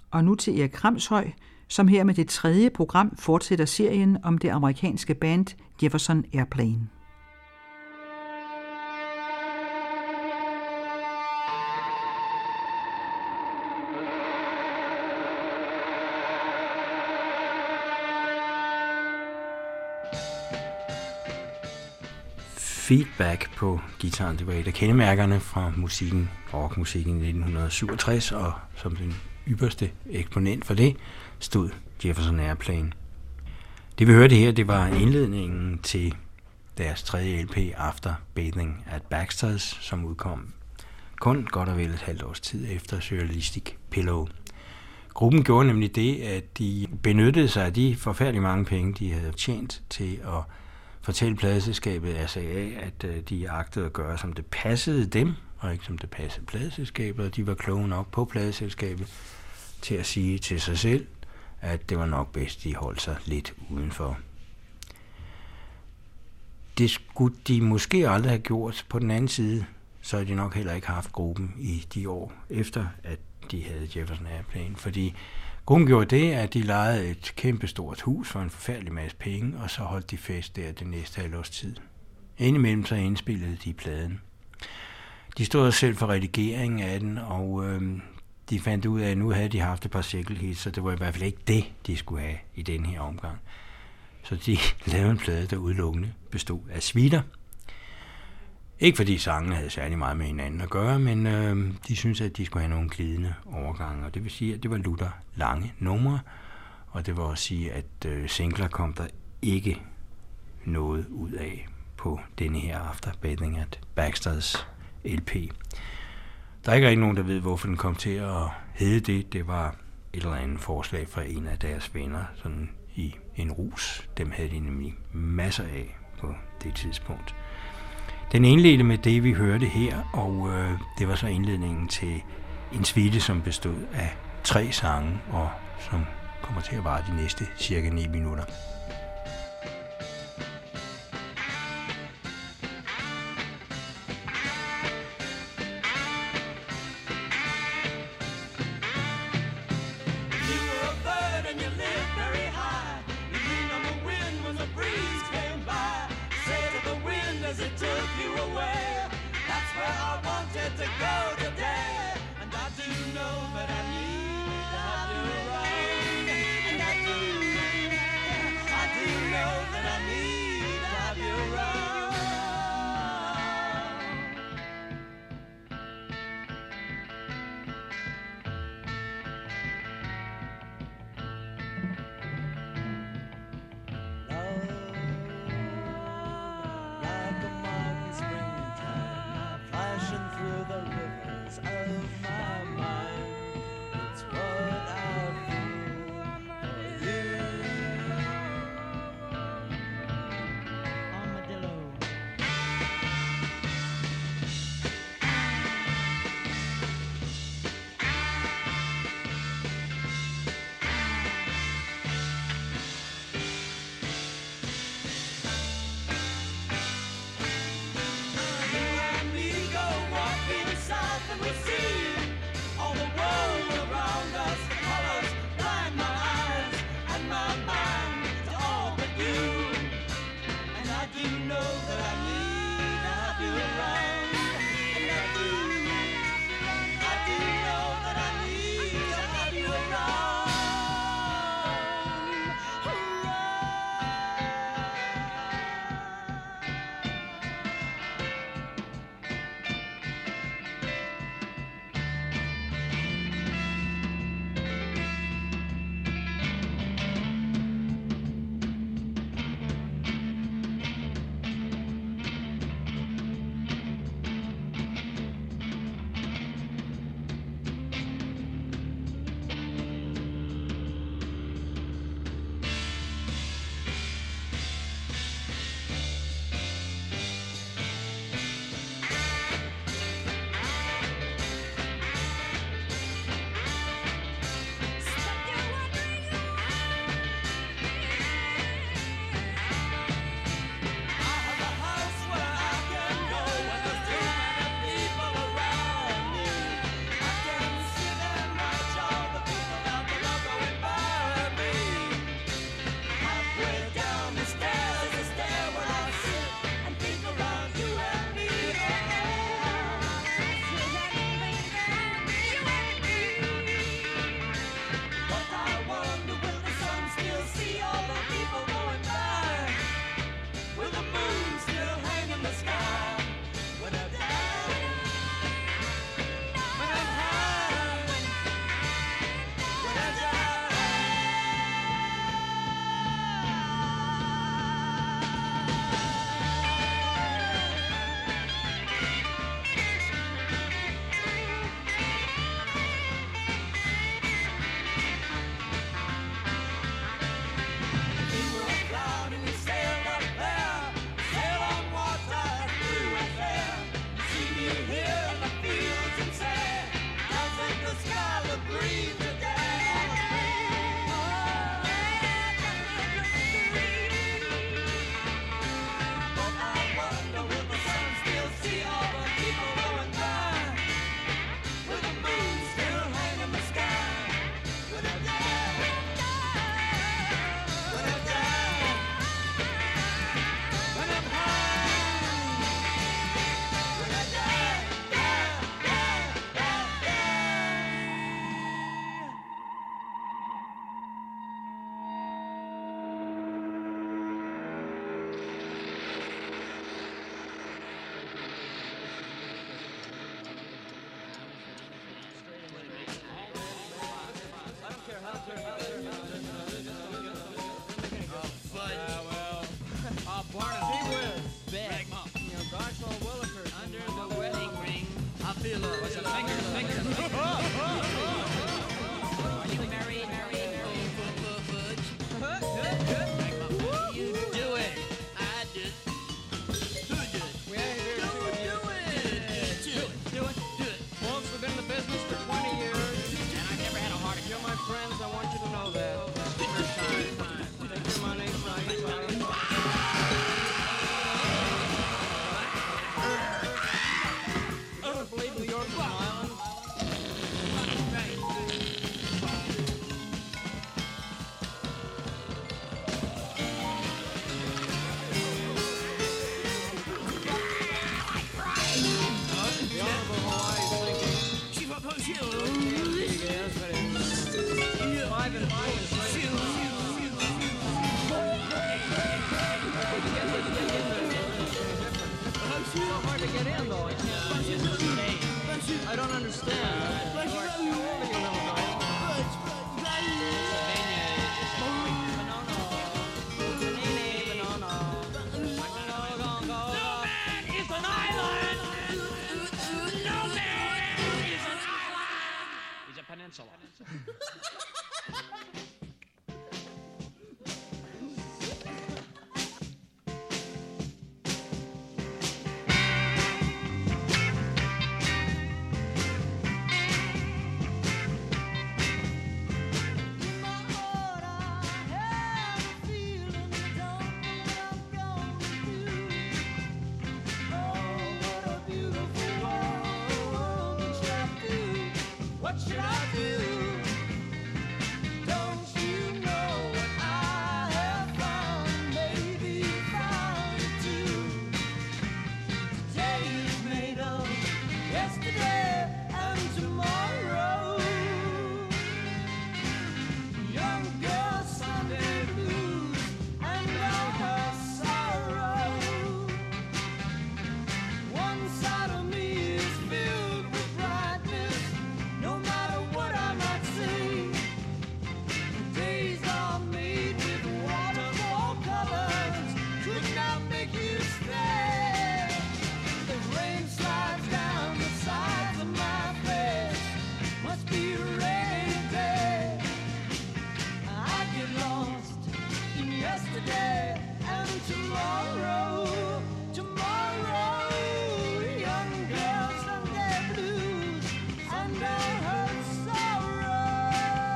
Og nu til Erik Kramshøj, som her med det 3. program fortsætter serien om det amerikanske band Jefferson Airplane. Feedback på guitaren, det var et af kendemærkerne fra musikken, rockmusikken i 1967, og som den ypperste eksponent for det stod Jefferson Airplane. Det vi hørte her, det var indledningen til deres 3. LP After Bathing at Baxter's, som udkom kun godt og vel et halvt års tid efter Surrealistic Pillow. Gruppen gjorde nemlig det, at de benyttede sig af de forfærdeligt mange penge, de havde tjent til at fortælle pladeselskabet SAA, at de agtede at gøre, som det passede dem, og ikke som det passede pladeselskabet, og de var kloge nok på pladeselskabet til at sige til sig selv, at det var nok bedst, de holdt sig lidt udenfor. Det skulle de måske aldrig have gjort. På den anden side, så havde de nok heller ikke haft gruppen i de år efter, at de havde Jefferson Airplane, fordi gruppen gjorde det, at de lejede et kæmpestort hus for en forfærdelig masse penge, og så holdt de fest der det næste halvårs tid. Indimellem så indspillede de pladen. De stod selv for redigeringen af den, og de fandt ud af, at nu havde de haft et par single hits, så det var i hvert fald ikke det, de skulle have i den her omgang. Så de lavede en plade, der udelukkende bestod af suiter. Ikke fordi sangene havde særlig meget med hinanden at gøre, men de syntes, at de skulle have nogle glidende overgange, og det vil sige, at det var lutter lange numre, og det vil også sige, at singler kom der ikke noget ud af på denne her After Bathing at Baxter's LP. Der er ikke rigtig nogen, der ved, hvorfor den kom til at hedde det. Det var et eller andet forslag fra en af deres venner, sådan i en rus. Dem havde de nemlig masser af på det tidspunkt. Den indledte med det, vi hørte her, og det var så indledningen til en suite, som bestod af 3 sange, og som kommer til at vare de næste cirka 9 minutter. I I don't understand. Peninsula. What should I do? Don't you know what I have found? Maybe found it too. Today is made of yesterday and tomorrow. Young girl Sunday blues and all her sorrow. One side of me is filled with brightness. No matter what I might say, the days are made with waterfall colors. Could not make you stay. The rain slides down the sides of my face. Must be a rainy day. I get lost in yesterday and tomorrow. Tomorrow, young girl Sunday blues and all her sorrows.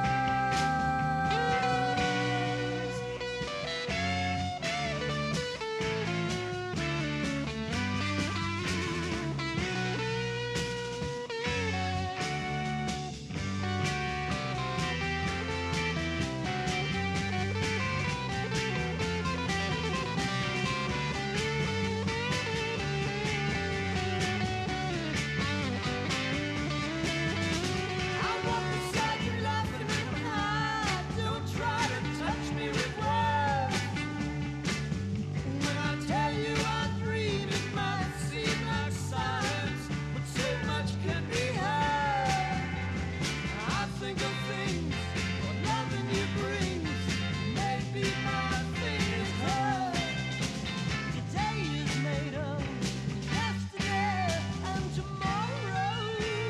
I walk beside you laughing and high. Don't try to touch me with words. When I tell you I dream, it might seem like silence, but so much can be heard. I think of things, what loving you brings. Maybe my thing is heard. Today is made of yesterday and tomorrow.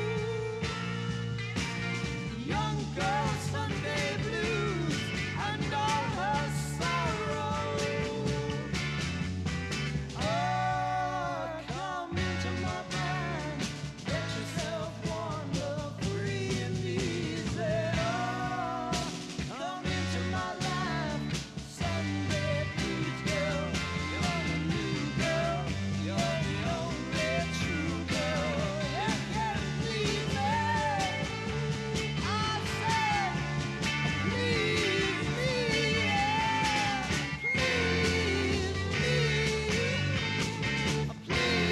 Young girl Sunday blues and all her sorrow. Oh, come into my mind, let yourself wander free and easy. Oh, come into my life, Sunday blues girl. You're the new girl, you're the only true girl. You can please me. I said, please me, yeah. Please me,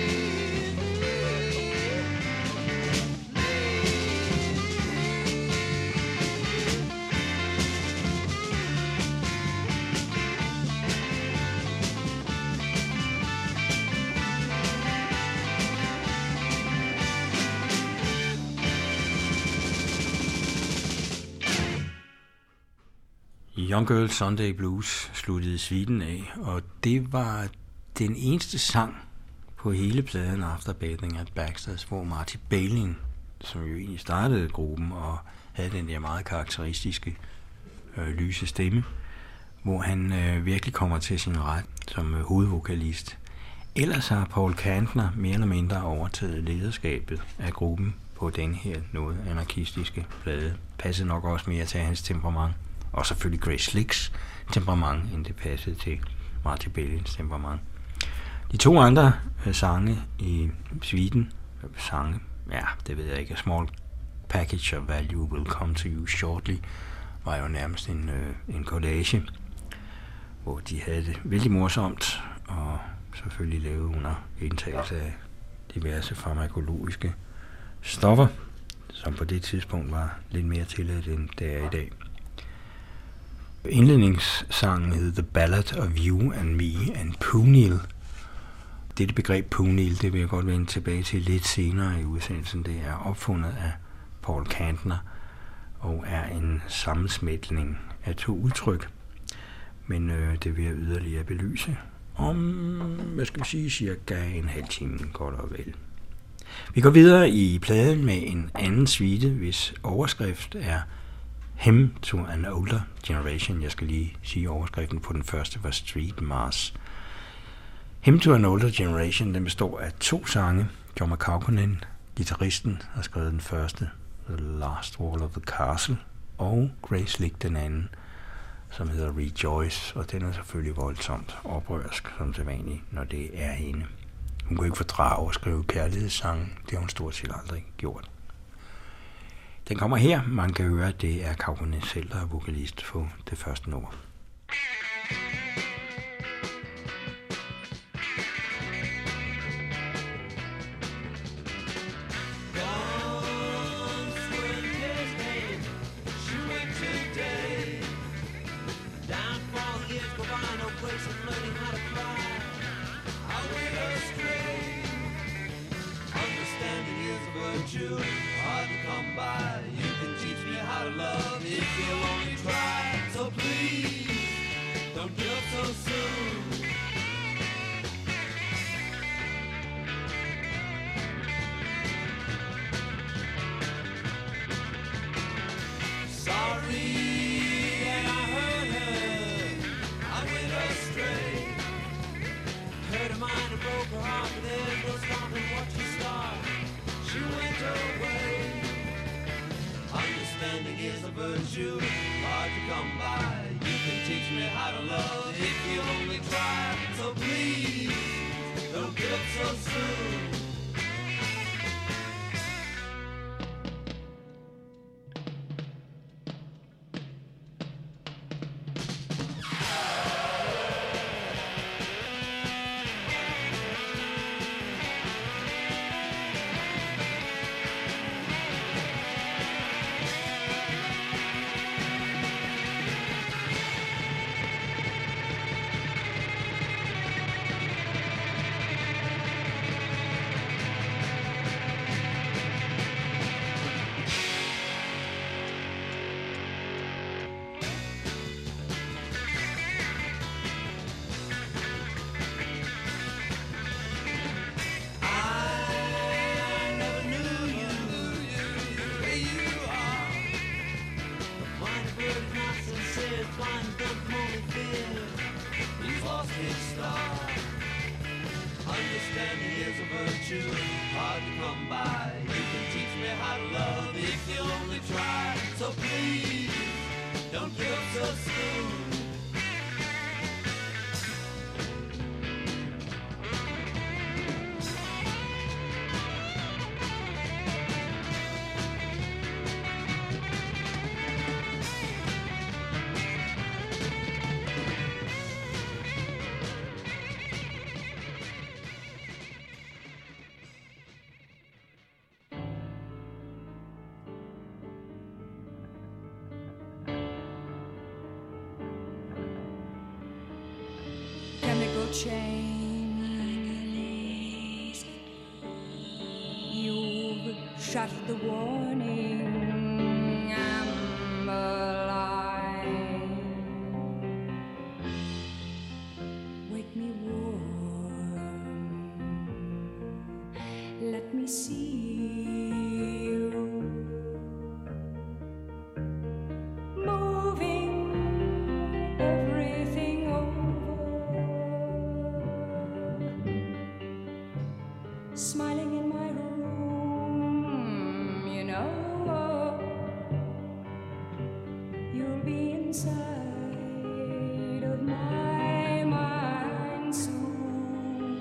Young Girl Sunday Blues sluttede suiten af, og det var den eneste sang på hele pladen After Bathing at Baxter's, hvor Marty Balin, som jo egentlig startede gruppen og havde den der meget karakteristiske lyse stemme, hvor han virkelig kommer til sin ret som hovedvokalist. Ellers har Paul Kantner mere eller mindre overtaget lederskabet af gruppen på den her noget anarkistiske plade. Passede nok også mere til hans temperament, og selvfølgelig Grace Slicks temperament, end det passede til Marty Balins temperament. De to andre sange i suiten, ja, det ved jeg ikke, A Small Package of Value Will Come to You Shortly, var jo nærmest en collage, hvor de havde det vældig morsomt, og selvfølgelig lavet under indtagelse af diverse farmakologiske stoffer, som på det tidspunkt var lidt mere tilladt, end det er i dag. Indledningssangen hed The Ballad of You and Me and Punil. Dette begreb Punil, det vil jeg godt vende tilbage til lidt senere i udsendelsen. Det er opfundet af Paul Kantner og er en sammensmeltning af to udtryk. Men det vil jeg yderligere belyse om, hvad skal vi sige, cirka en halv time, godt og vel. Vi går videre i pladen med en anden suite, hvis overskrift er Hymn to an Older Generation. Jeg skal lige sige, overskriften på den første var Street Mars. Hymn to an Older Generation, den består af 2 sange. John McCaughey, guitaristen, har skrevet den første, The Last Wall of the Castle, og Grace Slick den anden, som hedder Rejoice, og den er selvfølgelig voldsomt oprørsk, som sædvanligt, når det er hende. Hun kunne ikke fordrage at skrive kærlighedssange, det har hun stort set aldrig gjort. Den kommer her, man kan høre, at det er Kaukonen selv, der er vokalist på det første nummer. Chains, you've shut the warning, I'm alive. Wake me warm, let me see you moving everything over. Smiling in my room, you know, you'll be inside of my mind soon.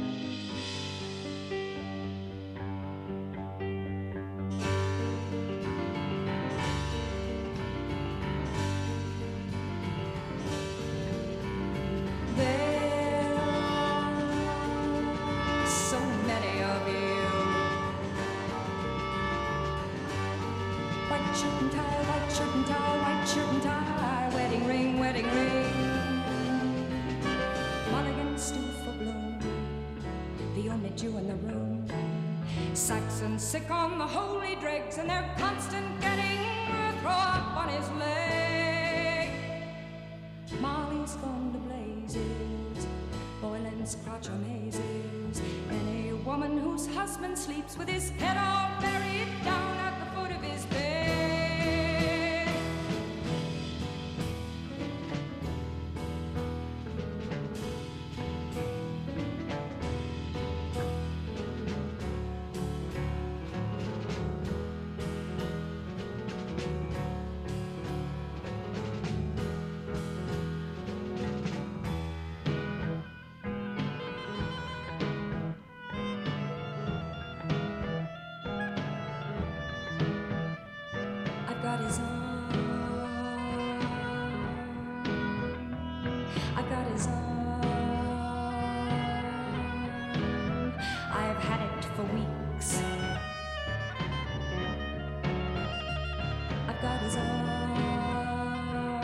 There are so many of you. White shirt and tie, white shirt and tie, white shirt and tie, wedding Jew in the room. Saxons sick on the holy dregs, and they're constant getting throw up on his leg. Molly's gone to blazes, boiling scotch amazes any woman whose husband sleeps with his head all buried down at the foot of his bed. Got his arm, I've got his arm, I've had it for weeks. I've got his arm,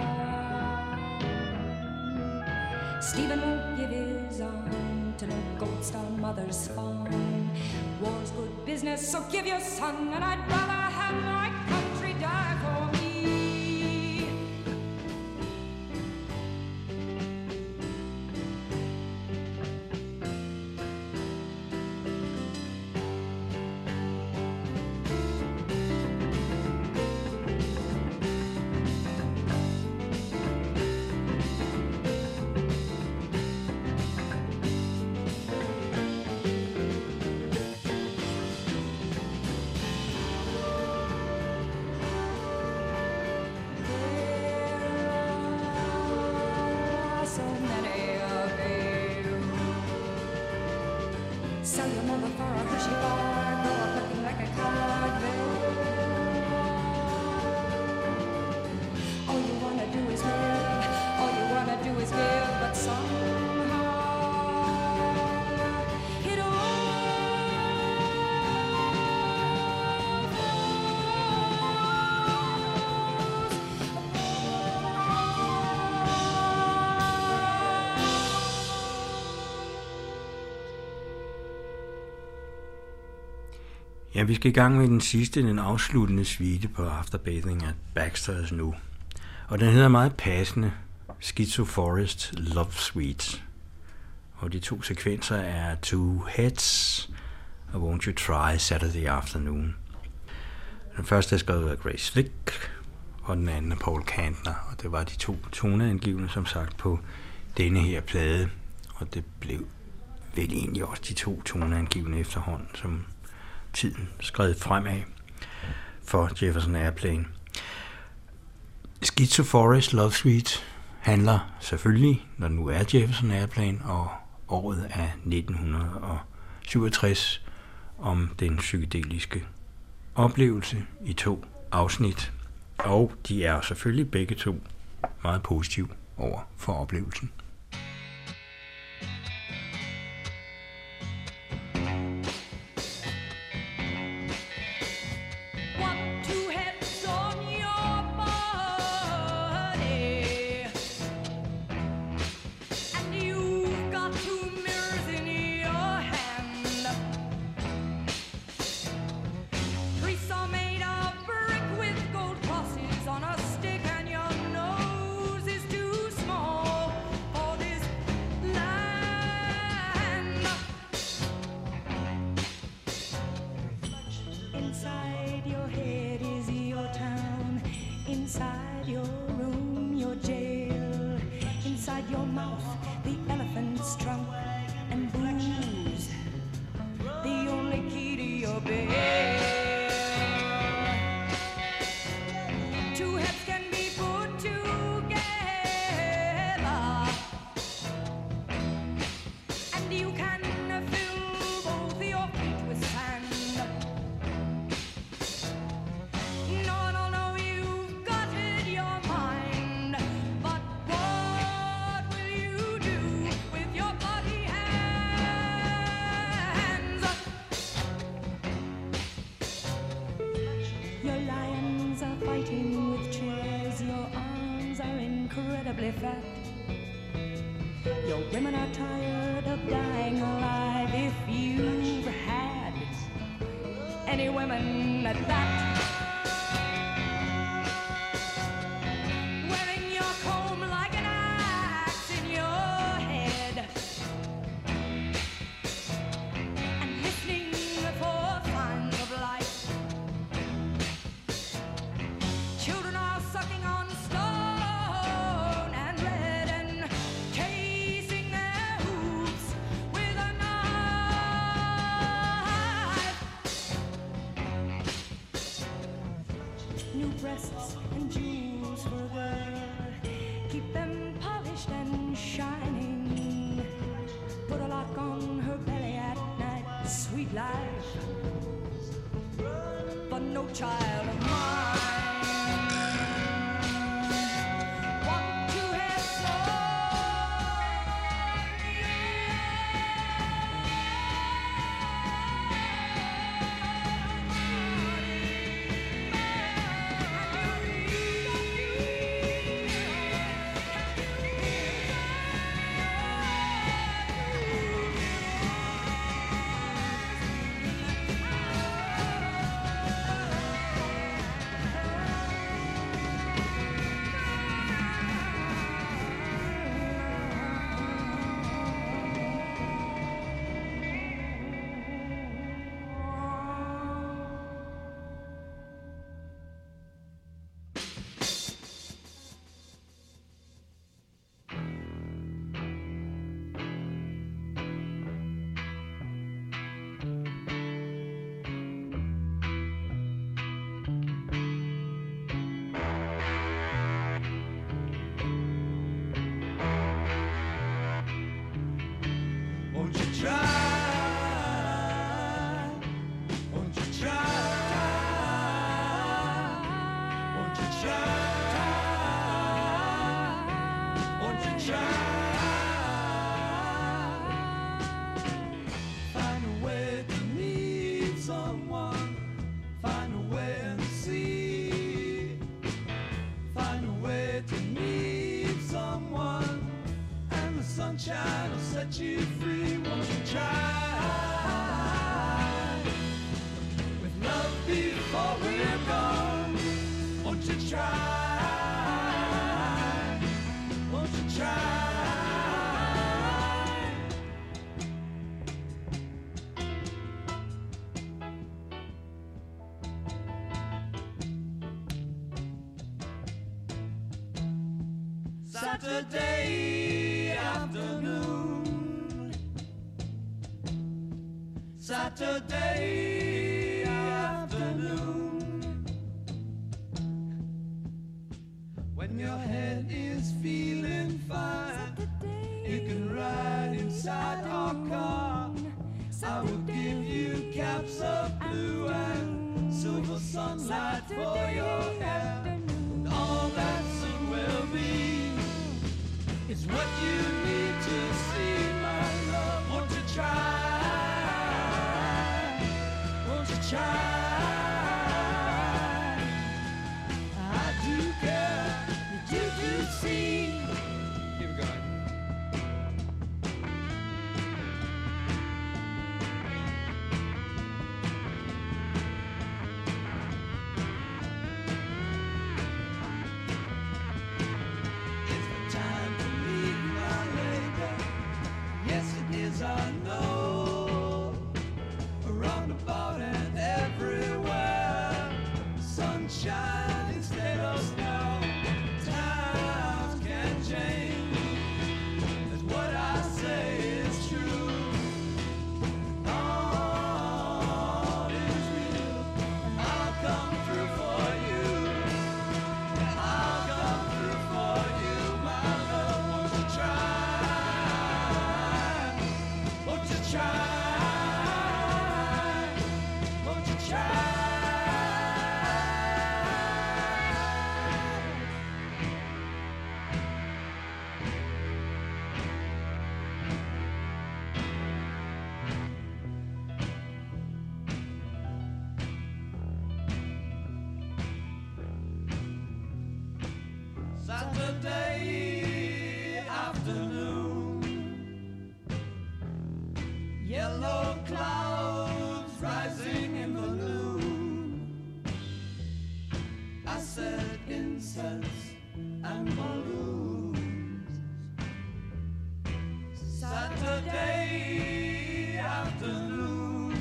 Stephen won't give his arm to no Gold Star mother's farm. War's good business, so give your son, and I'd rather have my country die for me. Sell your mother for a Hershey bar, grow up looking like a card bill. All you wanna do is live, all you wanna do is give, but somehow it all Ja, vi skal i gang med den afsluttende suite på Afterbathing at Baxter's nu. Og den hedder meget passende Schizo Forest Love Suite. Og de to sekvenser er Two Heads og Won't You Try Saturday Afternoon. Den første er skrevet af Grace Slick, og den anden af Paul Kantner. Og det var de to toneangivende, som sagt, på denne her plade. Og det blev vel egentlig også de to toneangivende efterhånden, som tiden skrevet fremad for Jefferson Airplane. Schizo Forest Love Suite handler selvfølgelig, når det nu er Jefferson Airplane, og året er 1967, om den psykedeliske oplevelse i 2 afsnit. Og de er selvfølgelig begge to meget positive over for oplevelsen. Your women are tired of dying alive if you've had any women at that. Wearing your comb like an axe in your head and listening for signs of life. Children are sucking on stone and lead and casing their hooves with a knife. New breasts and jewels for a girl, keep them polished and shining. Put a lock on her belly at night, sweet life, but no child of mine. Want to have Won't you try? Won't you try? Won't you try? Won't you try? Find a way to meet someone. Find a way and see. Find a way to meet someone. And the sunshine will set you free. Won't you try? With love before we're gone. Won't you try? Won't you try? Saturday afternoon. Saturday afternoon. When your head is feeling fine, you can ride inside our car. I will give you caps of blue and silver sunlight for your hair. And all that soon will be is what you need to see, my love. Won't you try? Won't you try? I do care that you do see. Keep it going. It's the time to leave my labor. Yes, it is, I know. Around about and everywhere, sunshine instead of snow. Times can change, that's what I say is true. All is real, and I'll come through for you. I'll come through for you, my love. Won't you try? Won't you try? Won't you try? Saturday afternoon. Yellow and balloons. Saturday afternoon,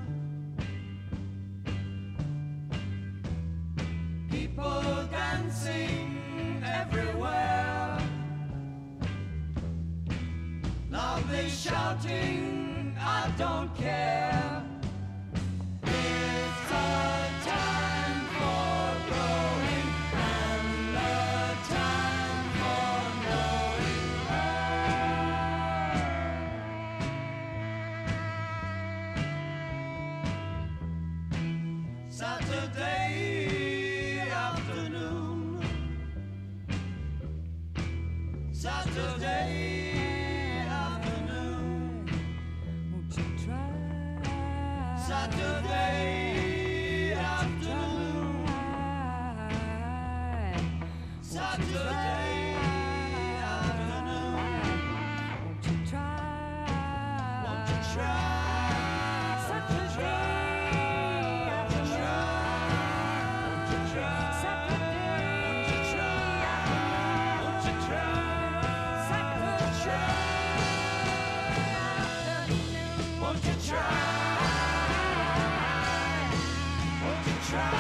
people dancing everywhere. Now they shouting, I don't care. It's a time for growing and a time for knowing her. Saturday afternoon, Saturday afternoon, Won't you try? Saturday afternoon, Saturday afternoon. Won't you try? Won't you try? Saturday afternoon. Won't you try? Saturday Won't you try? Won't you try? Won't you try? Won't you try?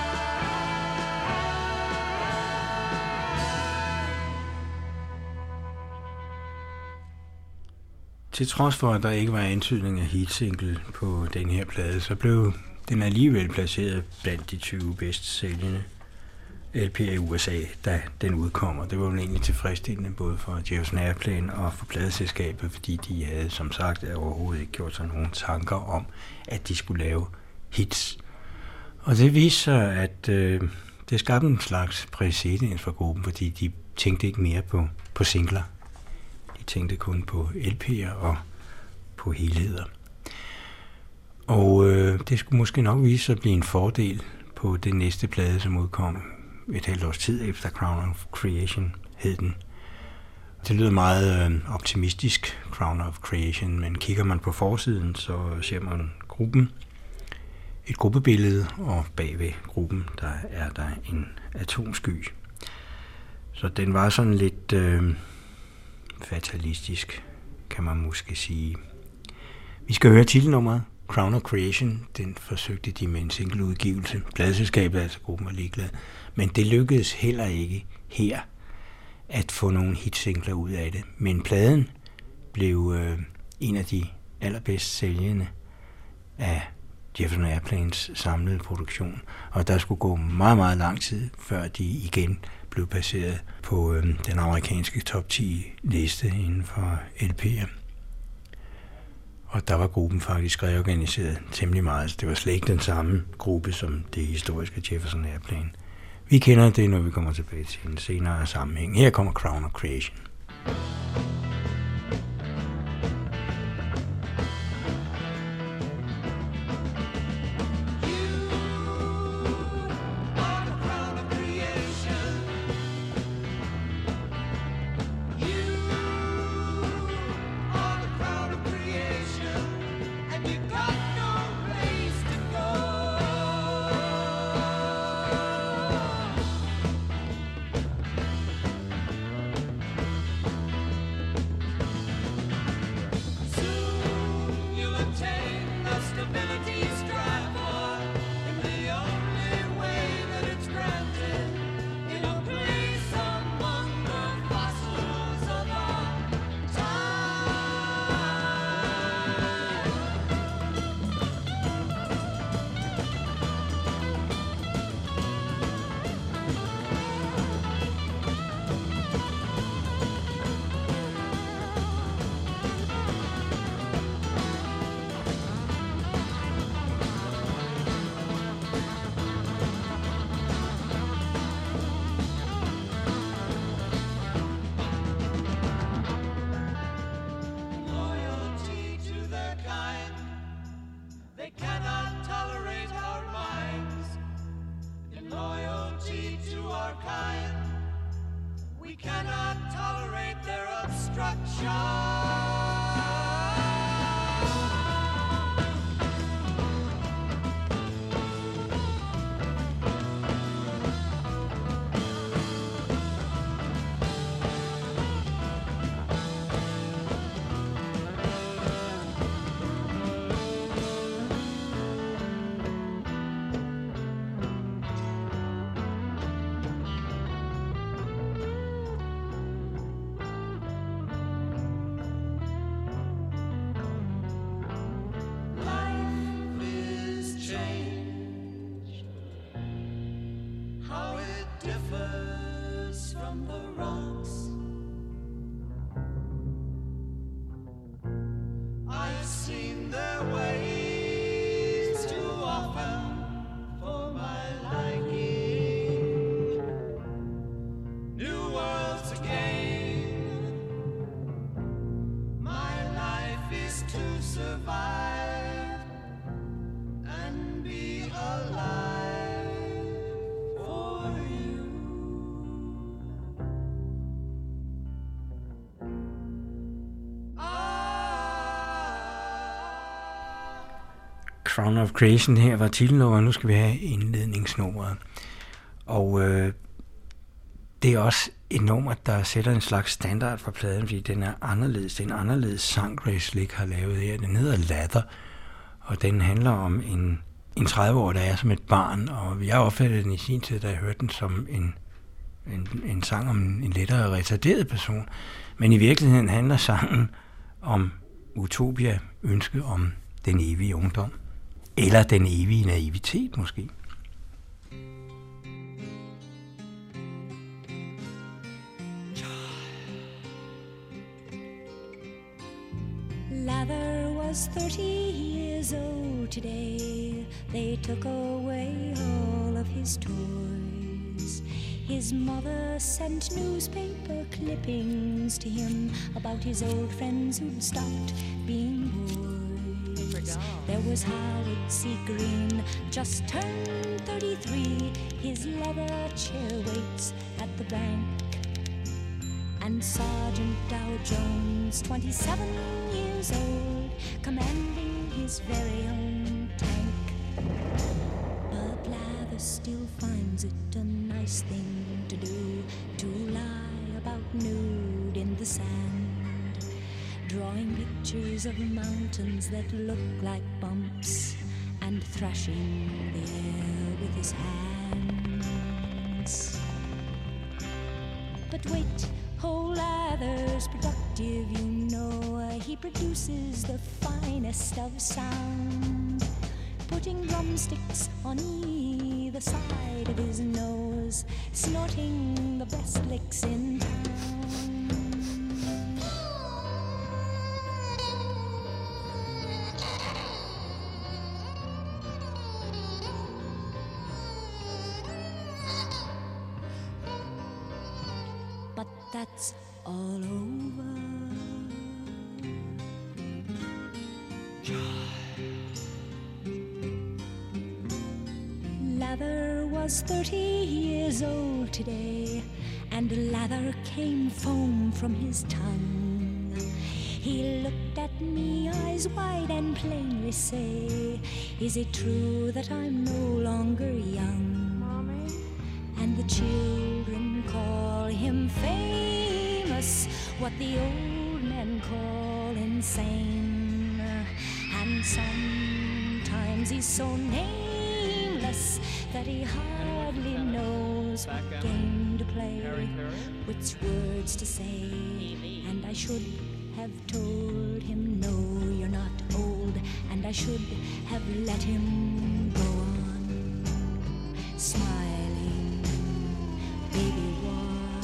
Til trods for, at der ikke var antydning af hitsingle på den her plade, så blev den alligevel placeret blandt de 20 bedst sælgende LP'er i USA, da den udkommer. Det var jo egentlig tilfredsstillende både for Jefferson Airplane og for pladeselskabet, fordi de havde som sagt overhovedet ikke gjort sig nogen tanker om, at de skulle lave hits. Og det viste sig, at det skabte en slags præcedens for gruppen, fordi de tænkte ikke mere på singler. De tænkte kun på LP'er og på helheder. Og det skulle måske nok vise sig at blive en fordel på det næste plade, som udkom et halvt års tid efter Crown of Creation hed den. Det lyder meget optimistisk, Crown of Creation, men kigger man på forsiden, så ser man gruppen, et gruppebillede, og bagved gruppen, der er der en atomsky. Så den var sådan lidt fatalistisk, kan man måske sige. Vi skal høre titelnummeret, Crown of Creation. Den forsøgte de med en singleudgivelse. Pladeselskabet, altså gruppen, var ligeglad. Men det lykkedes heller ikke her at få nogle hitsingler ud af det. Men pladen blev en af de allerbedst sælgende af Jefferson Airplanes samlede produktion. Og der skulle gå meget, meget lang tid, før de igen blev baseret på den amerikanske top 10 liste inden for LP'er. Og der var gruppen faktisk reorganiseret temmelig meget. Så det var slet ikke den samme gruppe som det historiske Jefferson Airplane. Vi kender det, når vi kommer tilbage til en senere sammenhæng. Her kommer Crown of Creation. Crown of Creation her var titelnummeret, nu skal vi have indledningsnummeret. Og det er også et nummer, der sætter en slags standard for pladen, fordi den er anderledes. Det er en anderledes sang, Grace Slick har lavet her. Den hedder Lather, og den handler om en 30-årig, der er som et barn, og jeg opfattede den i sin tid, da jeg hørte den som en sang om en lettere retarderet person. Men i virkeligheden handler sangen om utopia, ønske om den evige ungdom. Eller den evige naivitet måske. Lather was 30 years old today. They took away all of his toys. His mother sent newspaper clippings to him about his old friends who'd stopped being boys. There was Howard C. Green, just turned 33. His leather chair waits at the bank. And Sergeant Dow Jones, 27 years old, commanding his very own tank. But Lather still finds it a nice thing to do, to lie about nude in the sand, drawing pictures of mountains that look like bumps, and thrashing the air with his hands. But wait, whole Lather's productive, you know. He produces the finest of sound, putting drumsticks on either side of his nose, snorting the best licks in town. But that's all over. Lather was 30 years old today, and lather came foam from his tongue. He looked at me, eyes wide, and plainly say, "Is it true that I'm no longer young?" Mommy? And the children call him famous, what the old men call insane. And sometimes he's so nameless that he hardly knows what game to play, which words to say. And I should have told him, no, you're not old, and I should have let him go on smiling, baby, why?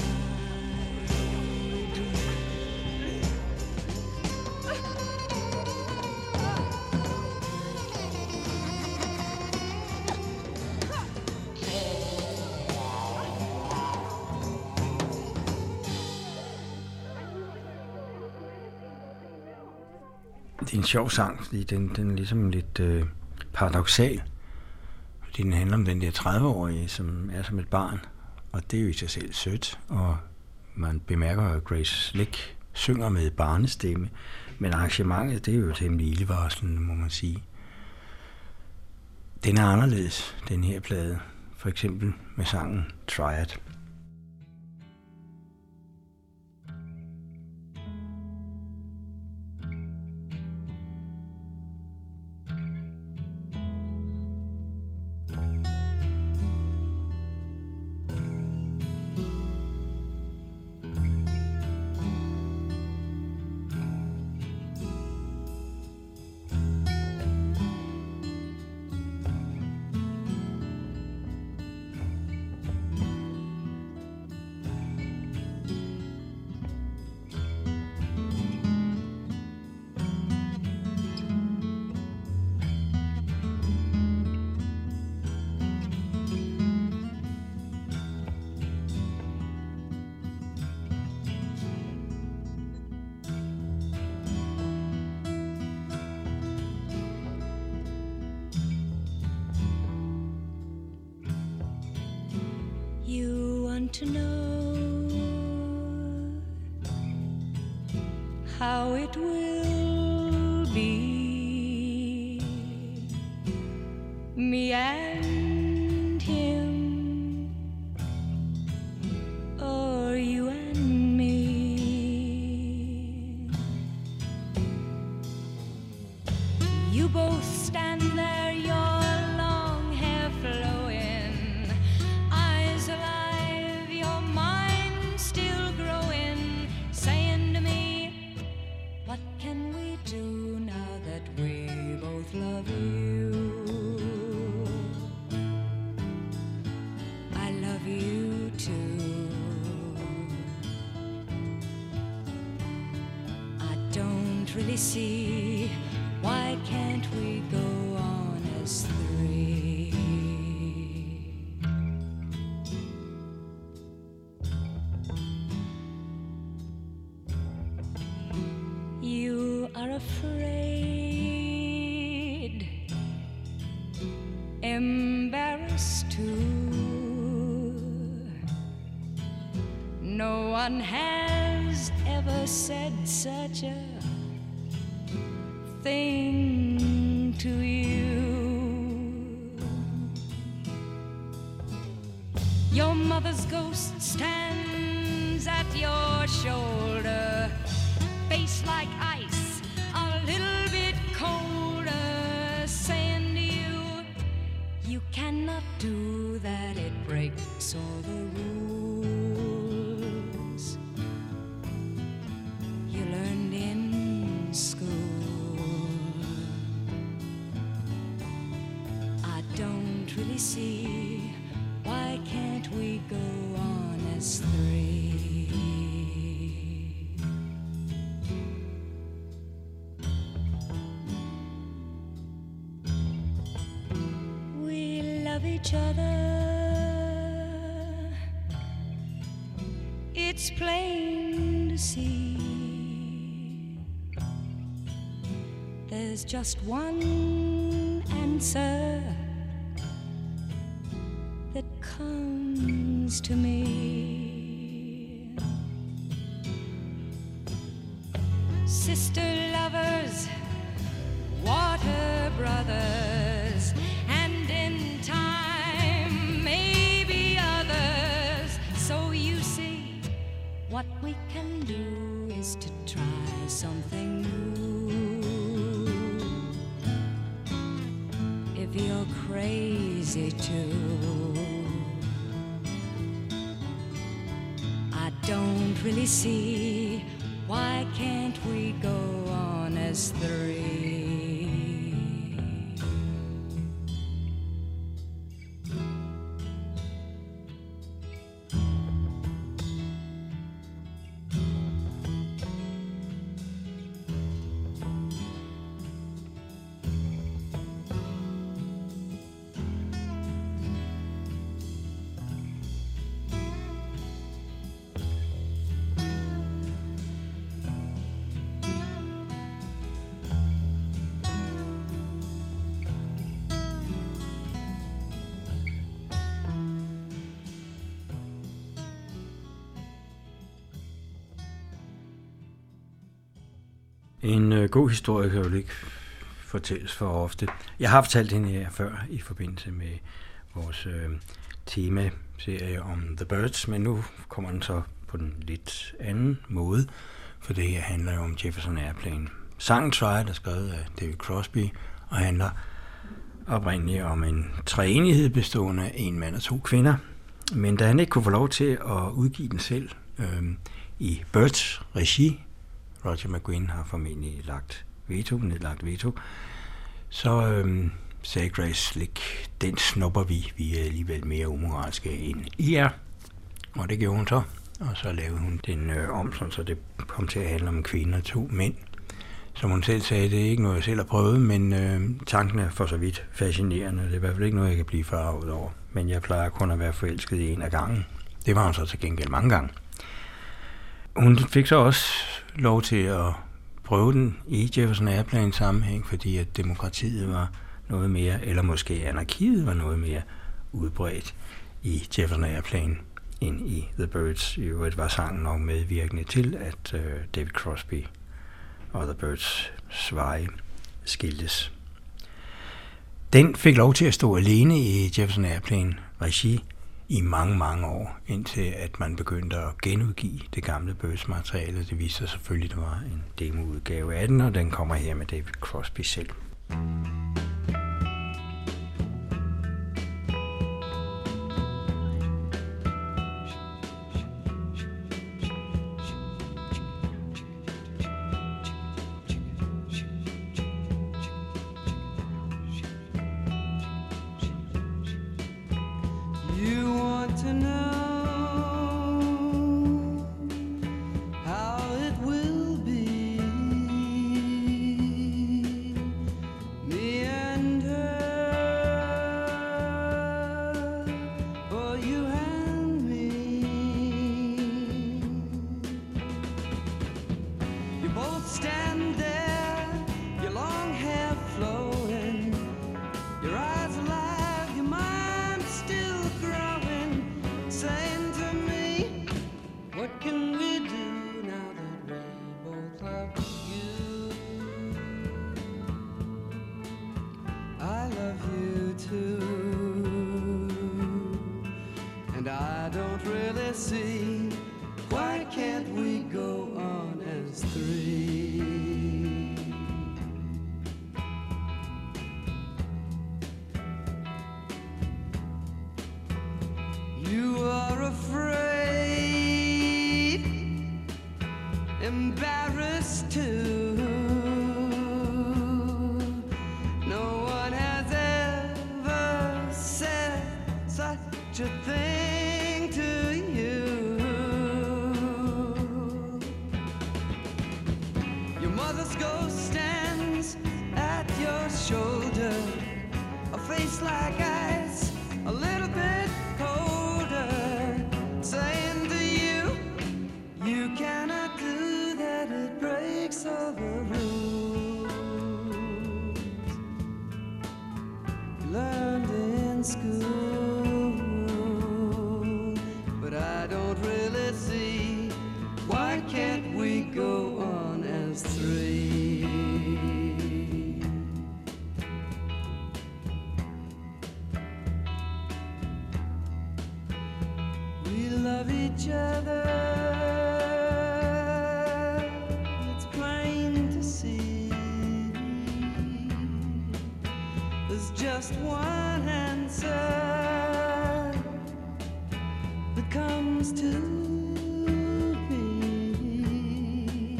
Det er en sjov sang, fordi den er ligesom lidt paradoksal. Fordi den handler om den der 30-årige, som er som et barn. Og det er jo i sig selv sødt, og man bemærker, at Grace Slick synger med barnestemme. Men arrangementet, det er jo temmelig ildevarslende, må man sige. Den er anderledes, den her plade. For eksempel med sangen Triad. To know how it will be don't really see why can't we go on as three. You are afraid, embarrassed too. No one has ever said such a thing to you. Your mother's ghost stands at your shoulder, face like ice, a little bit colder, saying to you, you cannot do that, it breaks all the rules you learned in school. I don't really see why can't we go on as three. We love each other, it's plain to see. There's just one answer that comes to me. Sister lovers, water brothers, and in time maybe others. So you see, what we can do is to try something new. If you're crazy too, I don't really see why can't we go on as three. En god historie kan jo ikke fortælles for ofte. Jeg har fortalt hende her før i forbindelse med vores temaserie om The Byrds, men nu kommer den så på den lidt anden måde, for det her handler jo om Jefferson Airplane. Sangen Try er skrevet af David Crosby og handler oprindeligt om en treenighed bestående af en mand og to kvinder, men da han ikke kunne få lov til at udgive den selv i Byrds regi, Roger McGuinn har formentlig nedlagt veto, så sagde Grace Slick, den snupper vi er alligevel mere umoralske end I er. Og det gjorde hun så, og så lavede hun den om, så det kom til at handle om en kvinde og to mænd. Som hun selv sagde, det er ikke noget, jeg selv har prøvet, men tanken er for så vidt fascinerende. Det er i hvert fald ikke noget, jeg kan blive forarvet over. Men jeg plejer kun at være forelsket i en af gangen. Det var hun så til gengæld mange gange. Hun fik så også lov til at prøve den i Jefferson Airplane sammenhæng, fordi at demokratiet var noget mere, eller måske anarkiet var noget mere udbredt i Jefferson Airplane end i The Byrds. I øvrigt var sangen nok medvirkende til, at David Crosby og The Byrds veje skiltes. Den fik lov til at stå alene i Jefferson Airplane regi i mange, mange år, indtil at man begyndte at genudgive det gamle Byrds-materiale. Det viste sig selvfølgelig, at der var en demoudgave af den, og den kommer her med David Crosby selv. How it will be embarrassed too. No one has ever said such a thing to you. Your mother's ghost stands at your shoulder, a face like ice, a little bit colder, saying to you, you cannot do that, it breaks all the rules you learned in school. But I don't really see, why can't we go on as three? We love each other, it's plain to see. There's just one answer that comes to me.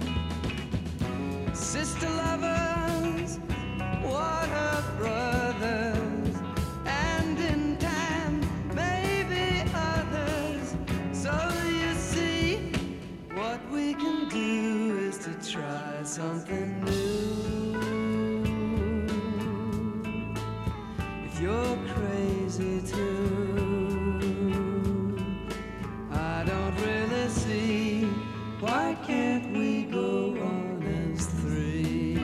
Sister lovers, water brothers, and in time, maybe others. So you see, what we can do is to try something new. If you're crazy too, I don't really see, why can't we go on as three?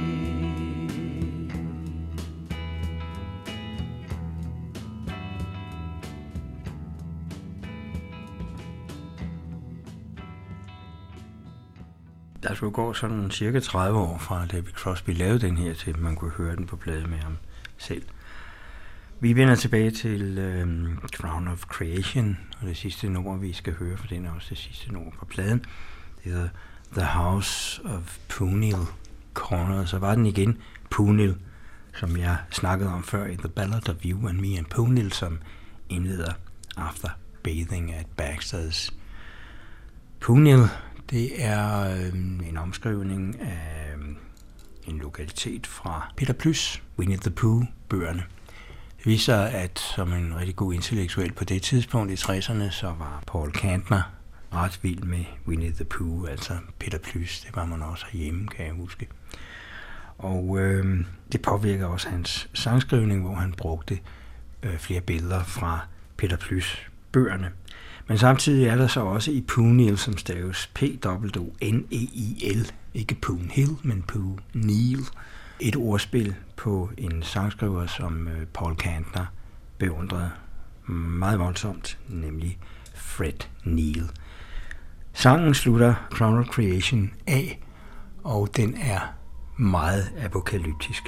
Der skulle gå sådan cirka 30 år fra David Crosby lavede den her, til man kunne høre den på plade med ham selv. Vi vender tilbage til Crown of Creation, og det sidste nummer, vi skal høre, for den er også det sidste nummer på pladen. Det hedder The House of Punil Corner. Så var den igen Punil, som jeg snakkede om før i The Ballad of You and Me and Punil, som indleder After Bathing at Baxter's. Punil, det er en omskrivning af en lokalitet fra Peter Plys, Winnie the Pooh-bøgerne. Det viser, at som en rigtig god intellektuel på det tidspunkt i 60'erne, så var Paul Kantner ret vild med Winnie the Pooh, altså Peter Plys. Det var man også herhjemme, kan jeg huske. Og det påvirker også hans sangskrivning, hvor han brugte flere billeder fra Peter Plys-bøgerne. Men samtidig er der så også i Punil, som staves P-O-O-N-E-I-L, ikke Poonhill, men Poonil, et ordspil på en sangskriver, som Paul Kantner beundrede meget voldsomt, nemlig Fred Neil. Sangen slutter Crown of Creation af, og den er meget apokalyptisk.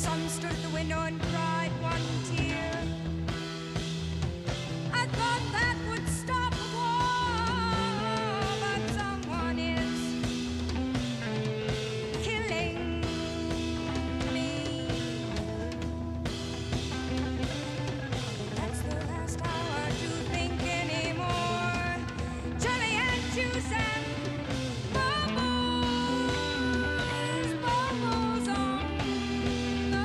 son stood at the window and cried one tear. I thought that would stop the war, but someone is killing me. That's the last hour to think anymore. Jelly and juice and bubbles, bubbles on the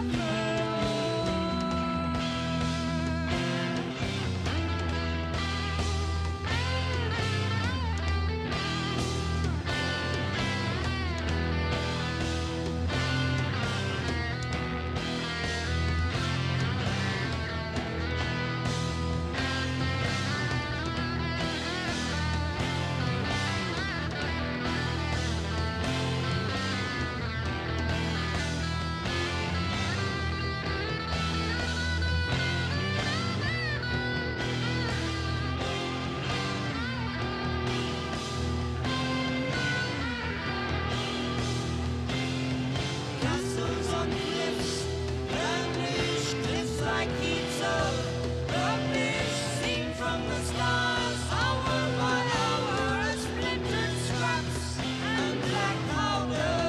Castles on cliffs, purplish cliffs like heaps of rubbish seen from the stars, hour by hour, as splintered scraps and black powder.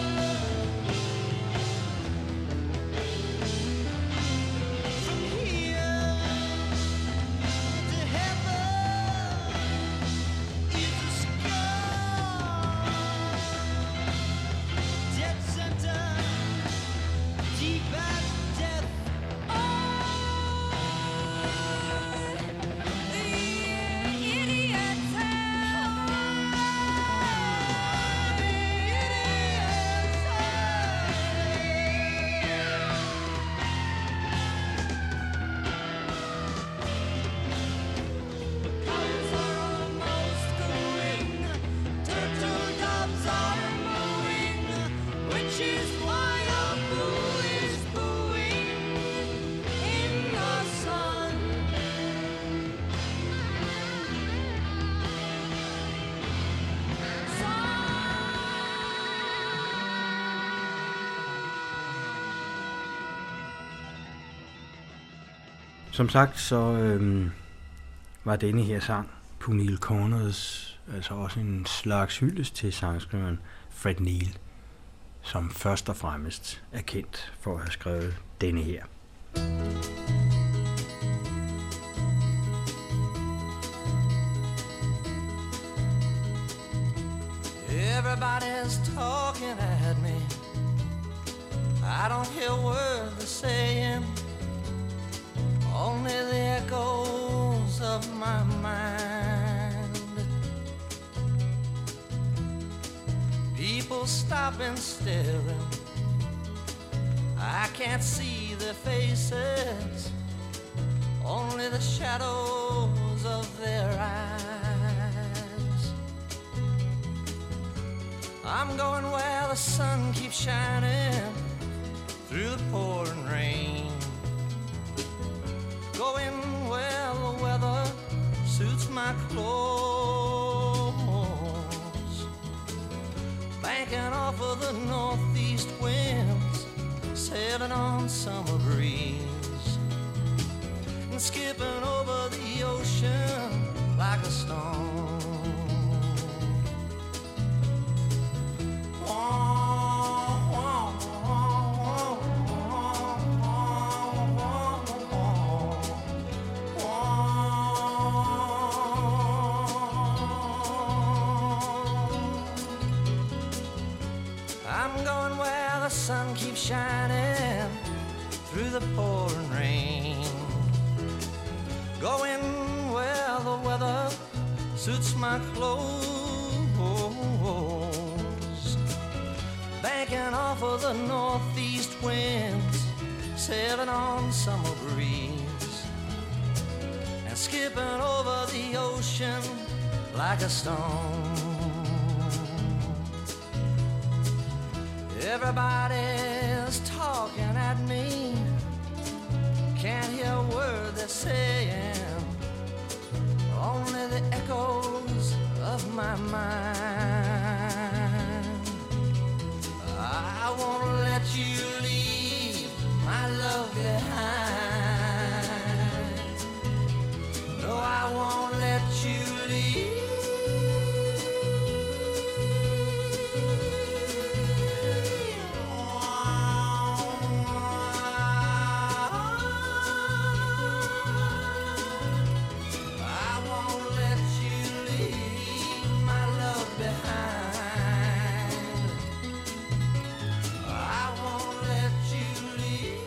From here to heaven is a scar. Dead center, deep as death. the idiots Cows are almost going, turtle doves are mooing, which is why a boo is booing in the sun. Som sagt, så var denne her sang på Neil Corners, altså også en slags hyldest til sangskriveren Fred Neil, som først og fremmest er kendt for at have skrevet denne her. Everybody's talking at me. I don't hear words they're saying, only the echoes of my mind. People stopping, staring. I can't see their faces, only the shadows of their eyes. I'm going where the sun keeps shining through the pouring rain, going where the weather suits my clothes, banking off of the northeast winds, sailing on summer breeze, and skipping over the ocean like a stone. I'm going where the sun keeps shining through the pouring rain, going where the weather suits my clothes, banking off of the northeast winds, sailing on summer breeze, and skipping over the ocean like a stone. Everybody's talking at me, can't hear a word they're saying, only the echoes of my mind. I won't let you leave my love behind. No, I won't let you leave. I won't let you leave my love behind. I won't let you leave.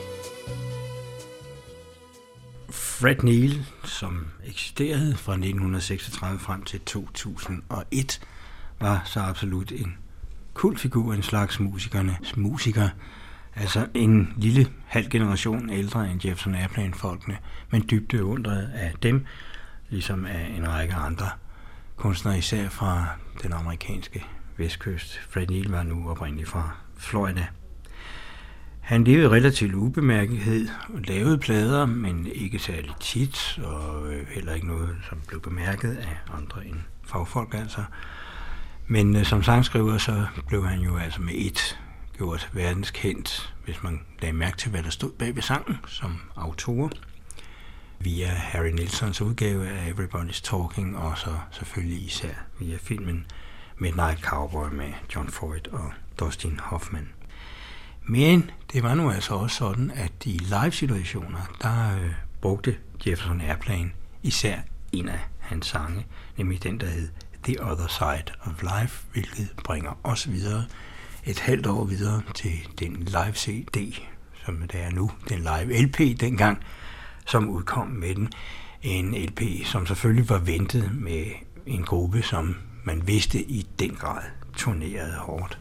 Fred Neil, som eksisterede fra 1936 frem til 2001, var så absolut en kultfigur, en slags musikernes musiker. Altså en lille halv generation ældre end Jefferson Airplane-folkene, men dybt beundret af dem, ligesom af en række andre kunstnere, især fra den amerikanske vestkyst. Fred Neil var nu oprindeligt fra Florida. Han levede relativt ubemærkethed og lavede plader, men ikke særlig tit, og heller ikke noget, som blev bemærket af andre end fagfolk altså. Men som sangskriver, så blev han jo altså med ét gjort verdenskendt, hvis man lagde mærke til, hvad der stod bag ved sangen som autor, via Harry Nilssons udgave af Everybody's Talking, og så selvfølgelig især via filmen Midnight Cowboy med John Ford og Dustin Hoffman. Men det var nu altså også sådan, at i live-situationer, der brugte Jefferson Airplane især en af hans sange, nemlig den, der hed The Other Side of Life, hvilket bringer os videre et halvt år videre til den live CD, som det er nu, den live LP dengang, som udkom med den. En LP, som selvfølgelig var ventet med en gruppe, som man vidste i den grad turnerede hårdt.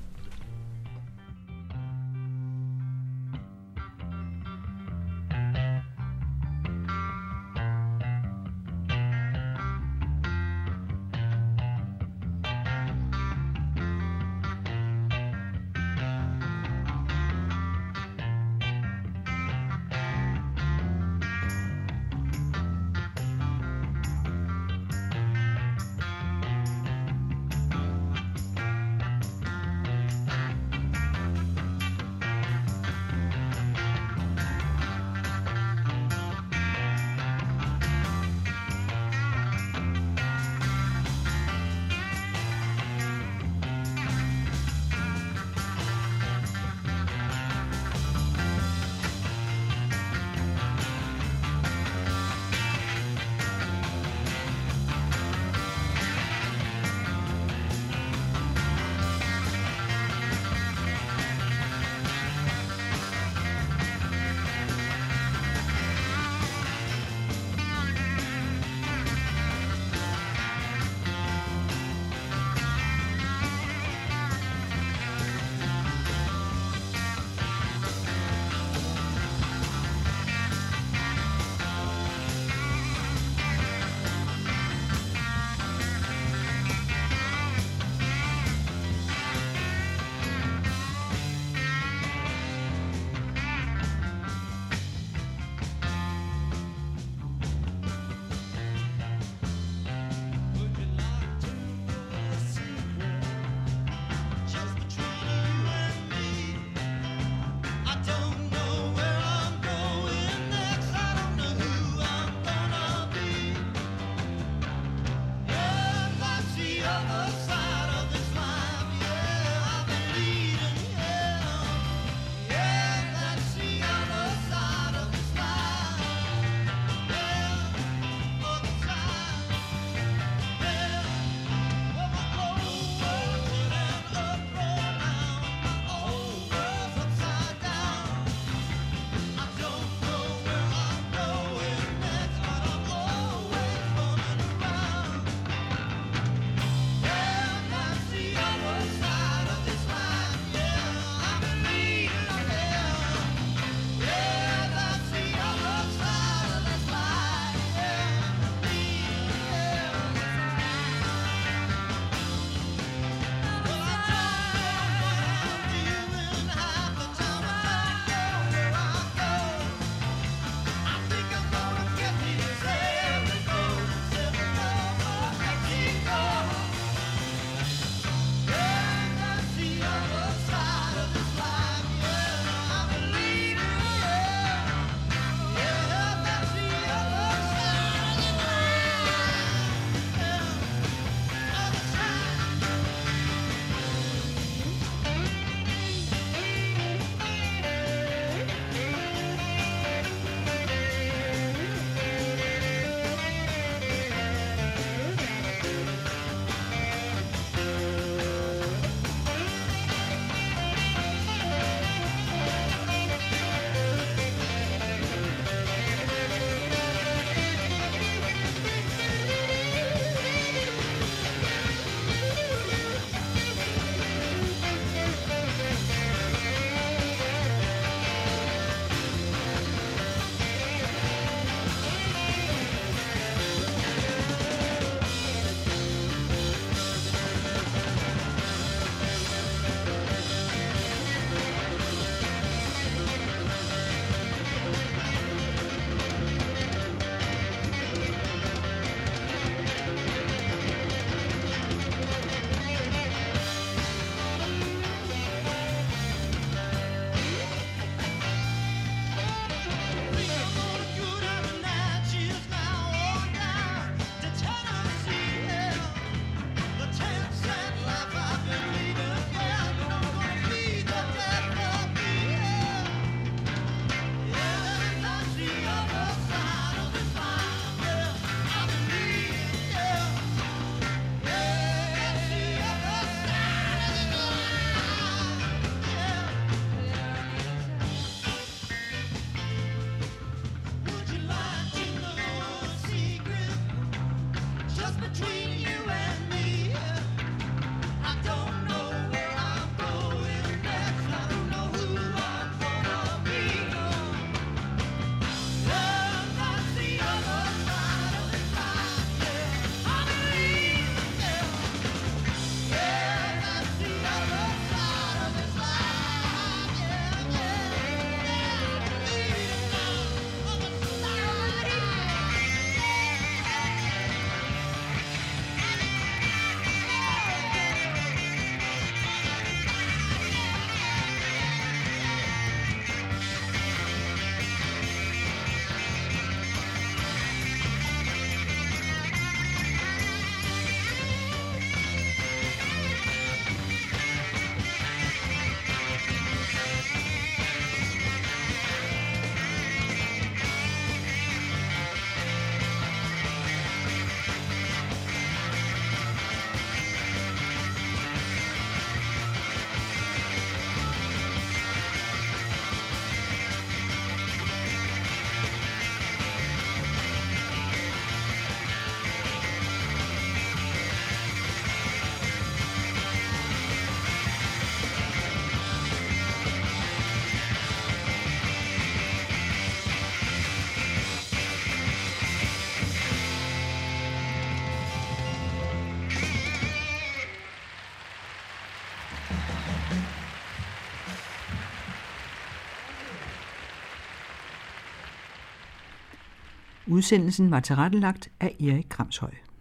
Udsendelsen var tilrettelagt af Erik Kramshøj.